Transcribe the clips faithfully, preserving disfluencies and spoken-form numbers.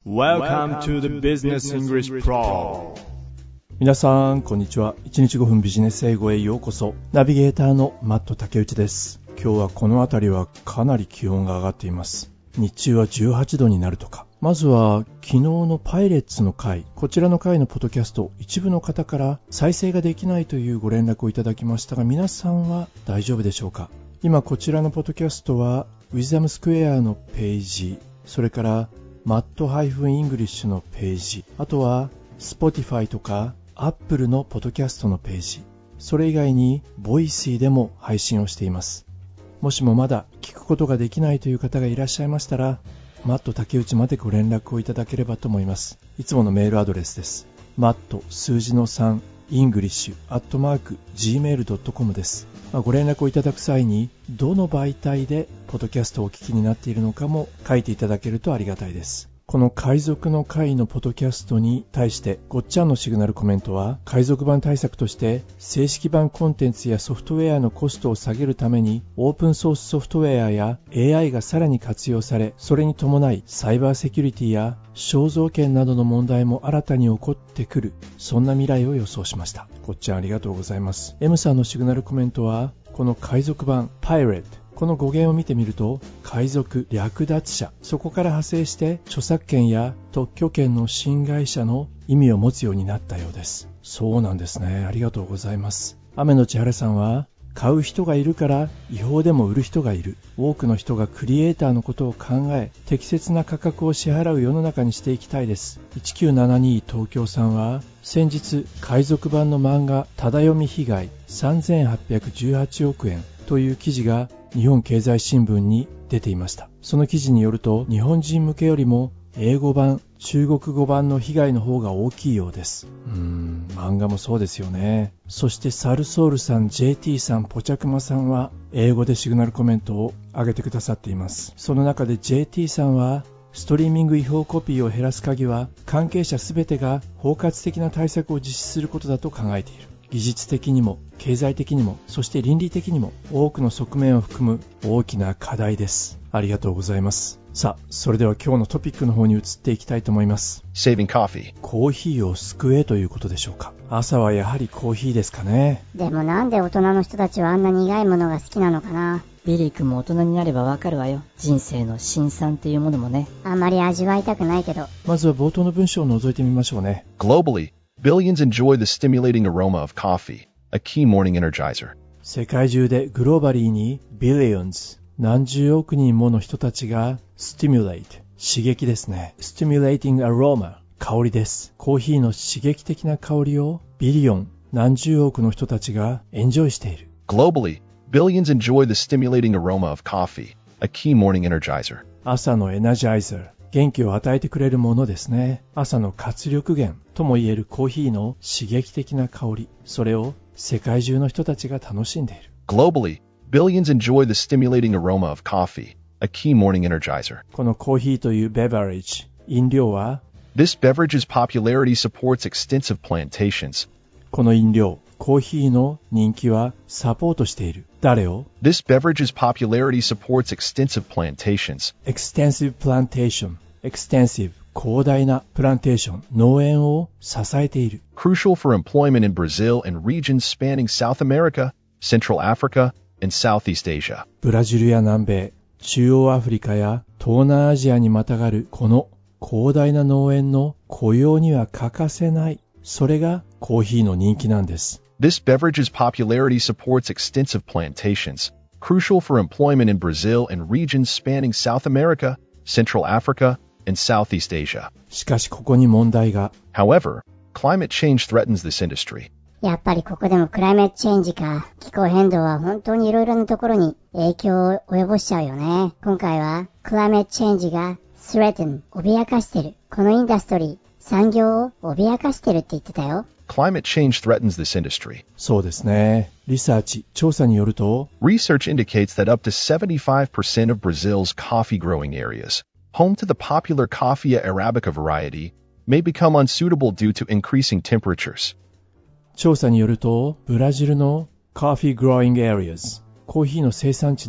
Welcome to the Business English Pro。 皆さんこんにちは。いちにちごふんビジネス英語へようこそ。ナビゲーターのマット竹内です。今日はこの辺りはかなり気温が上がっています。日中はじゅうはちどになるとか。まずは昨日のパイレッツの回、こちらの回のポッドキャスト、一部の方から再生ができないというご連絡をいただきましたが、皆さんは大丈夫でしょうか。今こちらのポッドキャストはウィズダムスクエアのページ、それからマットイングリッシュのページ、あとは Spotify とか Apple のポッドキャストのページ、それ以外に Voicy でも配信をしています。もしもまだ聞くことができないという方がいらっしゃいましたら、マット竹内までご連絡をいただければと思います。いつものメールアドレスです。マット数字のさんイングリッシュアットマーク ジーメールドットコム です。まあ、ご連絡をいただく際にどの媒体でポッドキャストをお聞きになっているのかも書いていただけるとありがたいです。この海賊の会のポッドキャストに対してごっちゃんのシグナルコメントは、海賊版対策として正式版コンテンツやソフトウェアのコストを下げるためにオープンソースソフトウェアや エーアイ がさらに活用され、それに伴いサイバーセキュリティや肖像権などの問題も新たに起こってくる、そんな未来を予想しました。ごっちゃんありがとうございます。 M さんのシグナルコメントは、この海賊版パイレット、この語源を見てみると、海賊、略奪者、そこから派生して著作権や特許権の侵害者の意味を持つようになったようです。そうなんですね。ありがとうございます。雨のちはるさんは、買う人がいるから違法でも売る人がいる。多くの人がクリエイターのことを考え、適切な価格を支払う世の中にしていきたいです。いちきゅうななに東京さんは、先日海賊版の漫画ただ読み被害さんぜんはっぴゃくじゅうはちおくえんという記事が日本経済新聞に出ていました。その記事によると、日本人向けよりも英語版、中国語版の被害の方が大きいようです。うーん、漫画もそうですよね。そしてサルソールさん、ジェーティー さん、ポチャクマさんは英語でシグナルコメントを上げてくださっています。その中で ジェーティー さんは、ストリーミング違法コピーを減らす鍵は関係者すべてが包括的な対策を実施することだと考えている。技術的にも経済的にも、そして倫理的にも多くの側面を含む大きな課題です。ありがとうございます。さあ、それでは今日のトピックの方に移っていきたいと思います。 Saving coffee。 コーヒーを救えということでしょうか。朝はやはりコーヒーですかね。 でもなんで大人の人たちはあんな苦いものが好きなのかな。 ビリー君も大人になればわかるわよ。人生の辛酸っていうものもね。 あんまり味わいたくないけど。 まずは冒頭の文章を覗いてみましょうね。 Globally, billions enjoy the stimulating aroma of coffee, a key morning energizer。 世界中でグローバリーに billions、何十億人もの人たちが stimulate、刺激ですね。stimulating aroma、香りです。コーヒーの刺激的な香りをビリオン、何十億の人たちがエンジョイしている。 Globally, billions enjoy the stimulating aroma of coffee, a key morning energizer。 朝のエナジャイザー、元気を与えてくれるものですね。朝の活力源ともいえるコーヒーの刺激的な香り、それを世界中の人たちが楽しんでいる。 Globally, billions enjoy the stimulating aroma of coffee, a key morning energizer。 このコーヒーというベバレッジ、飲料は、 This beverage's popularity supports extensive plantations。 この飲料、コーヒーの人気はサポートしている。誰を？ This beverage's popularity supports extensive plantations。 extensive plantation、 extensive、広大なプランテーション、農園を支えている。 Crucial for employment in Brazil and regions spanning South America, Central Africa, and Southeast Asia。 ブラジルや南米、中央アフリカや東南アジアにまたがるこの広大な農園の雇用には欠かせない、それがコーヒーの人気なんです。 This beverage's popularity supports extensive plantations, crucial for employment in Brazil and regions spanning South America, Central Africa, and Southeast Asia。 しかしここに問題が。 However, climate change threatens this industry。 やっぱりここでもクライメットチェンジか。気候変動は本当にいろいろなところに影響を及ぼしちゃうよね。今回はクライメットチェンジが threaten、脅かしてる。このインダストリー、産業を脅かしてるって言ってたよ。 Climate change threatens this industry。 そうですね。リサーチ、調査によると、 Research indicates that up to seventy-five percent of Brazil's coffee growing areas, home to the popular Coffea arabica variety, may become unsuitable due to increasing temperatures。 調査によると、ブラジルの Coffee Growing Areas、コーヒーの生産地の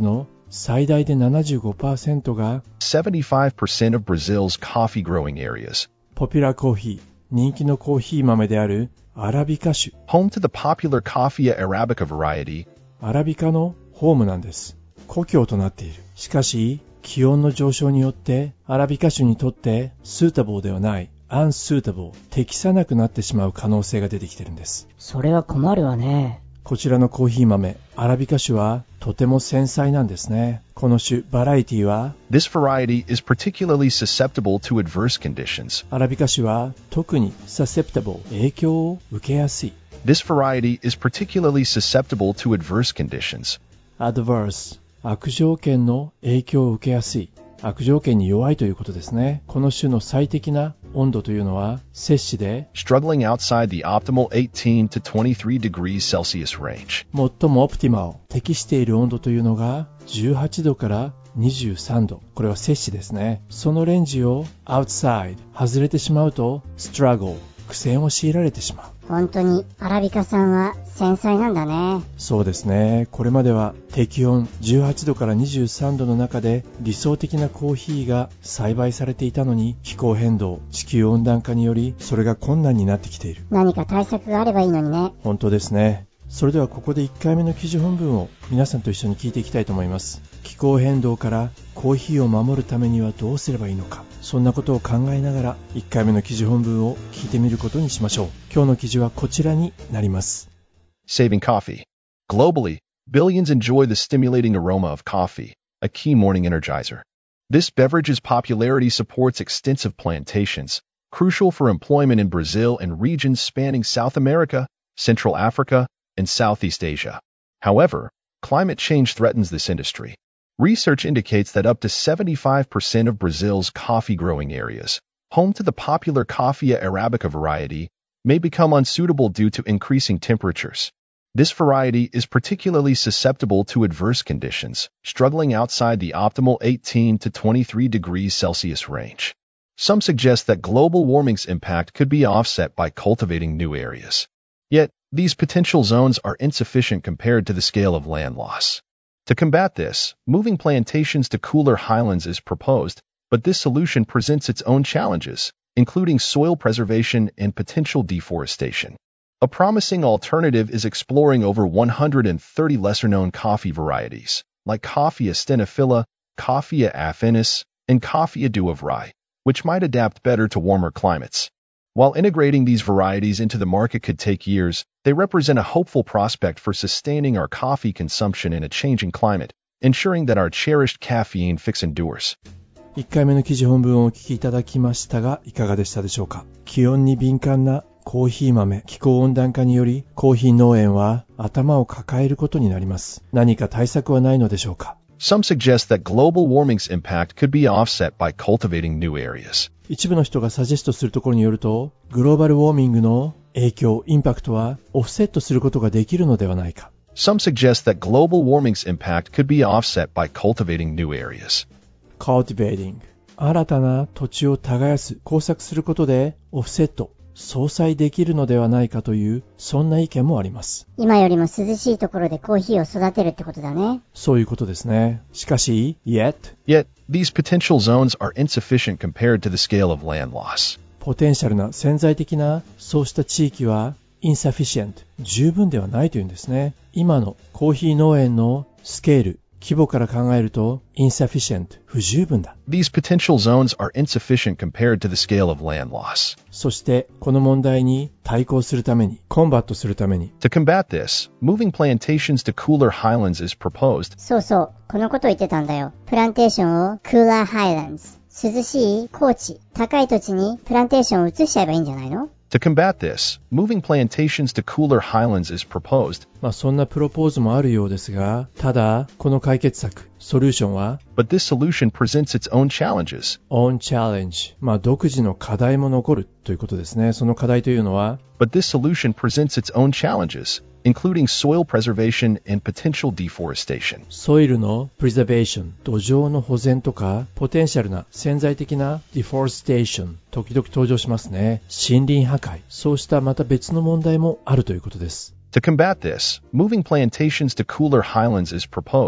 最大で ななじゅうごパーセント が seventy-five percent of Brazil's coffee growing areas, ポピュラーコーヒー、人気のコーヒー豆であるアラビカ種、 home to the popular Coffea arabica variety, アラビカのホームなんです。故郷となっている。しかし、気温の上昇によってアラビカ種にとってスータボーではない、unsuitable、適さなくなってしまう可能性が出てきているんです。 それは困るわね。 こちらのコーヒー豆、アラビカ種はとても繊細なんですね。この種、バラエティは、 this variety is particularly susceptible to adverse conditions. アラビカ種は特に susceptible、影響を受けやすい。 This variety is particularly susceptible to adverse conditions. adverse、悪条件の影響を受けやすい。悪条件に弱いということですね。この種の最適な温度というのは、摂氏で struggling outside the optimal eighteen to twenty-three degrees Celsius range. 最もオプティマル、適している温度というのがじゅうはちどからにじゅうさんど。これは摂氏ですね。そのレンジを outside、外れてしまうと struggle、苦戦を強いられてしまう。 本当にアラビカさんは繊細なんだね。 そうですね。これまでは適温じゅうはちどからにじゅうさんどの中で理想的なコーヒーが栽培されていたのに、気候変動、地球温暖化によりそれが困難になってきている。 何か対策があればいいのにね。 本当ですね。それではここでいっかいめの記事本文を皆さんと一緒に聞いていきたいと思います。気候変動からコーヒーを守るためにはどうすればいいのか、そんなことを考えながらいっかいめの記事本文を聞いてみることにしましょう。今日の記事はこちらになります。 Saving coffee. Globally, billions enjoy the stimulating aroma of coffee, a key morning energizer. This beverage's popularity supports extensive plantations, crucial for employment in Brazil and regions spanning South America, Central Africa, and Southeast Asia. However, climate change threatens this industry. Research indicates that up to seventy-five percent of Brazil's coffee-growing areas, home to the popular Coffea arabica variety, may become unsuitable due to increasing temperatures. This variety is particularly susceptible to adverse conditions, struggling outside the optimal eighteen to twenty-three degrees Celsius range. Some suggest that global warming's impact could be offset by cultivating new areas. Yet, these potential zones are insufficient compared to the scale of land loss. To combat this, moving plantations to cooler highlands is proposed, but this solution presents its own challenges, including soil preservation and potential deforestation. A promising alternative is exploring over one hundred thirty lesser-known coffee varieties, like Coffea stenophila, Coffea affinis, and Coffea duovrai, which might adapt better to warmer climates. While integrating these varieties into the market could take years, they represent a hopeful prospect for sustaining our coffee consumption in a changing climate, ensuring that our cherished caffeine fix endures. いっかいめの記事本文をお聞きいただきましたが、いかがでしたでしょうか。気温に敏感なコーヒー豆、気候温暖化によりコーヒー農園は頭を抱えることになります。何か対策はないのでしょうか。 Some suggest that global warming's impact could be offset by cultivating new areas. 一部の人がサジェストするところによると、グローバルウォーミングの影響、インパクトはオフセットすることができるのではないか。 Some suggest that global warming's impact could be offset by cultivating new areas. Cultivating、新たな土地を耕す、耕作することでオフセット、相殺できるのではないかという、そんな意見もあります。 今よりも涼しいところでコーヒーを育てるってことだね。 そういうことですね。しかし、yet, Yet, these potential zones are insufficient compared to the scale of land loss. ポテンシャルな潜在的なそうした地域は insufficient、十分ではないというんですね。今のコーヒー農園のスケール、規模から考えると insufficient、不十分だ。 These potential zones are insufficient compared to the scale of land loss. そしてこの問題に対抗するために、コンバットするために、 To combat this, moving plantations to cooler highlands is proposed. そうそう、このこと言ってたんだよ。プランテーションをクーラーハイランズ、涼しい高地、高い土地にプランテーションを移しちゃえばいいんじゃないの？ To combat this, moving plantations to cooler highlands is proposed. まあそんなプロポーズもあるようですが、ただこの解決策、ソリューションは But this solution presents its own challenges. own challenge、まあ独自の課題も残るということですね。その課題というのは But this solution presents its own challenges, including soil preservation and potential deforestation. ソイルの preservation、土壌の保全とか、ポテンシャルな潜在的な deforestation、時々登場しますね。森林破壊、そうしたまた別の問題もあるということです。 To combat this, moving plantations to cooler highlands is proposed,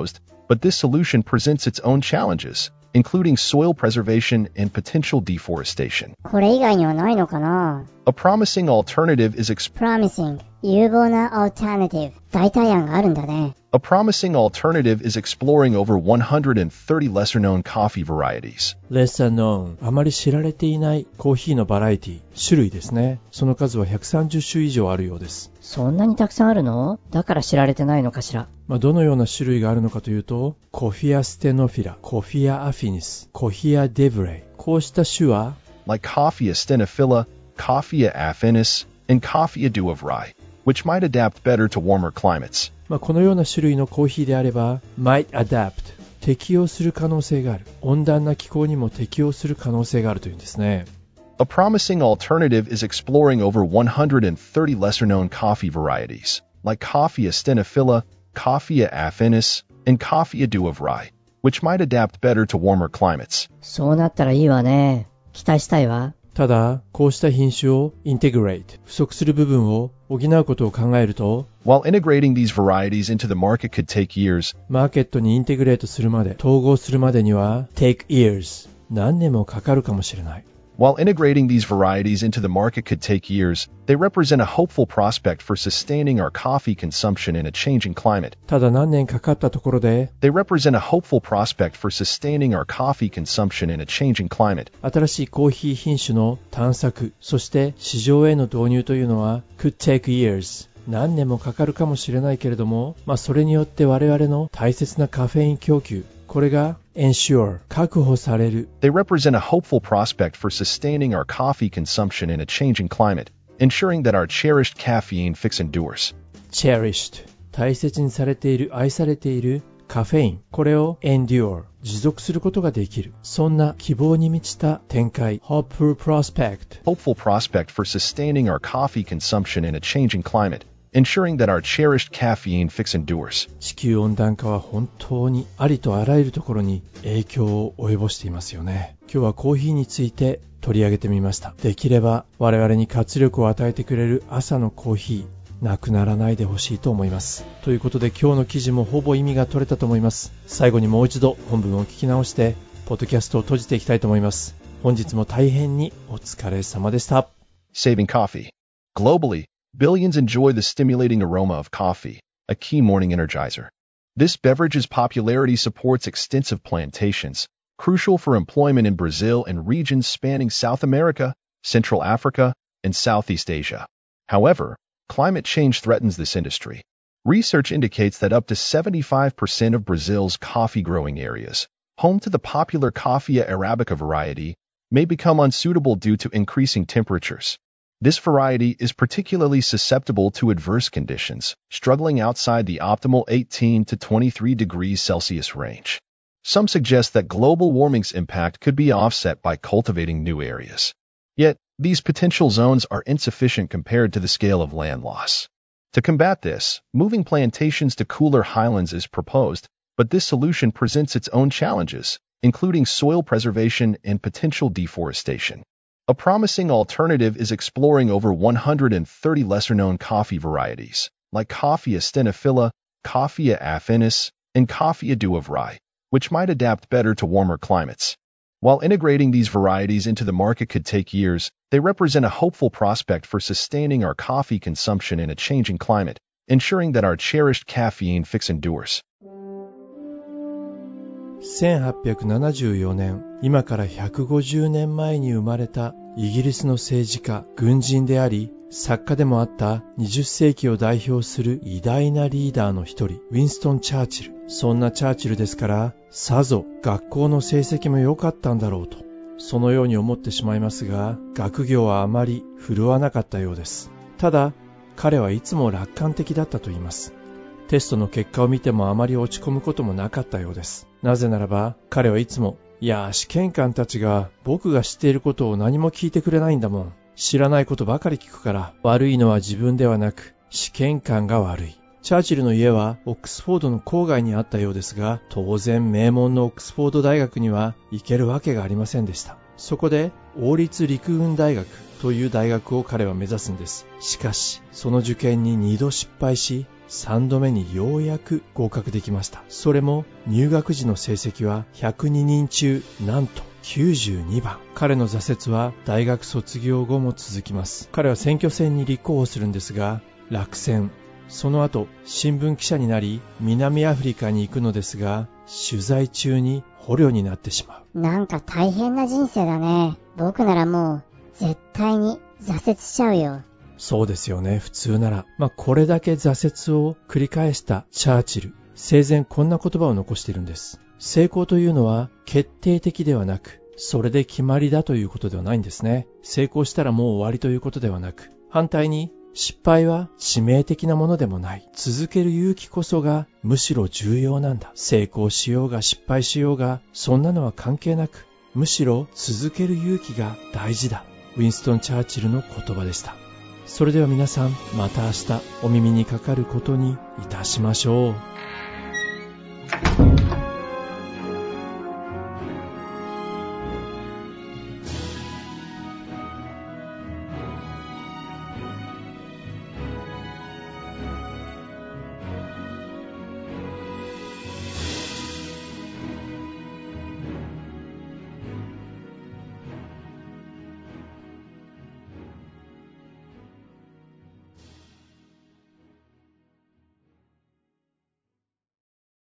but this solution presents its own challenges, including soil preservation and potential deforestation. これ以外にはないのかな？ A promising alternative is exp- Promising 有望な alternative 代替案があるんだね。 A promising alternative is exploring over one hundred thirty lesser-known coffee varieties. lesser known あまり知られていないコーヒーのバラエティ、種類ですね。その数はひゃくさんじゅっ種以上あるようです。 そんなにたくさんあるの？だから知られてないのかしら。 まあ、どのような種類があるのかというと、コフィアステノフィラ、コフィアアフィニス、コフィアデブレイ。こうした種は、 like Coffea stenophila, Coffea affinis, and Coffea duovrai, which might adapt better to warmer climates. まあ、このような種類のコーヒーであれば、might adapt 適応する可能性がある。温暖な気候にも適応する可能性があるというんですね。 A promising alternative is exploring over one hundred thirty lesser-known coffee varieties, like Coffea stenophila, Coffea affinis, and Coffea duovrai, which might adapt better to warmer climates. そうなったらいいわね。期待したいわ。 ただ、こうした品種を integrate 不足する部分を補うことを考えると、 While integrating these varieties into the market could take years, マーケットにインテグレートするまで、統合するまでには take years 何年もかかるかもしれない。 While integrating these varieties into the market could take years, they represent a hopeful prospect for sustaining our coffee consumption in a changing climate. ただ何年かかったところで、 They represent a hopeful prospect for sustaining our coffee consumption in a changing climate. 新しいコーヒー品種の探索、そして市場への導入というのは could take years。何年もかかるかもしれないけれども、まあそれによって我々の大切なカフェイン供給、これが ensure 確保される。 They represent a hopeful prospect for sustaining our coffee consumption in a changing climate, ensuring that our cherished caffeine fix endures. cherished 大切にされている、愛されているカフェイン、これを endure 持続することができる。そんな希望に満ちた展開、hopeful prospect Hopeful prospect for sustaining our coffee consumption in a changing climate, ensuring that our cherished caffeine fix endures. 地球温暖化は本当にありとあらゆるところに影響を及ぼしていますよね。今日はコーヒーについて取り上げてみました。できれば我々に活力を与えてくれる朝のコーヒー、なくならないでほしいと思います。ということで今日の記事もほぼ意味が取れたと思います。最後にもう一度本文を聞き直してポッドキャストを閉じていきたいと思います。本日も大変にお疲れ様でした。 Saving coffee. Globally, billions enjoy the stimulating aroma of coffee, a key morning energizer. This beverage's popularity supports extensive plantations, crucial for employment in Brazil and regions spanning South America, Central Africa, and Southeast Asia. However, climate change threatens this industry. Research indicates that up to seventy-five percent of Brazil's coffee-growing areas, home to the popular Coffea arabica variety, may become unsuitable due to increasing temperatures. This variety is particularly susceptible to adverse conditions, struggling outside the optimal eighteen to twenty-three degrees Celsius range. Some suggest that global warming's impact could be offset by cultivating new areas. Yet, these potential zones are insufficient compared to the scale of land loss. To combat this, moving plantations to cooler highlands is proposed, but this solution presents its own challenges, including soil preservation and potential deforestation. A promising alternative is exploring over one hundred thirty lesser-known coffee varieties, like Coffea stenophila, Coffea affinis, and Coffea duovrai, which might adapt better to warmer climates. While integrating these varieties into the market could take years, they represent a hopeful prospect for sustaining our coffee consumption in a changing climate, ensuring that our cherished caffeine fix endures. せんはっぴゃくななじゅうよねん、今からひゃくごじゅうねんまえに生まれたイギリスの政治家、軍人であり、作家でもあったにじゅっせいきを代表する偉大なリーダーの一人、ウィンストン・チャーチル。そんなチャーチルですから、さぞ学校の成績も良かったんだろうと、そのように思ってしまいますが、学業はあまり振るわなかったようです。ただ、彼はいつも楽観的だったと言います。テストの結果を見てもあまり落ち込むこともなかったようです。なぜならば、彼はいつも、いや、試験官たちが僕が知っていることを何も聞いてくれないんだもん。知らないことばかり聞くから、悪いのは自分ではなく、試験官が悪い。チャーチルの家はオックスフォードの郊外にあったようですが、当然名門のオックスフォード大学には行けるわけがありませんでした。そこで、王立陸軍大学という大学を彼は目指すんです。しかし、その受験ににど失敗し、 さんどめにようやく合格できました。それも入学時の成績はひゃくににん中なんときゅうじゅうにばん。彼の挫折は大学卒業後も続きます。彼は選挙戦に立候補するんですが落選。その後新聞記者になり南アフリカに行くのですが取材中に捕虜になってしまう。 なんか大変な人生だね。僕ならもう絶対に挫折しちゃうよ。 そうですよね。普通なら。まあこれだけ挫折を繰り返したチャーチル。生前こんな言葉を残しているんです。成功というのは決定的ではなく、それで決まりだということではないんですね。成功したらもう終わりということではなく、反対に失敗は致命的なものでもない。続ける勇気こそがむしろ重要なんだ。成功しようが失敗しようが、そんなのは関係なく、むしろ続ける勇気が大事だ。ウィンストン・チャーチルの言葉でした。それでは皆さん、また明日お耳にかかることにいたしましょう。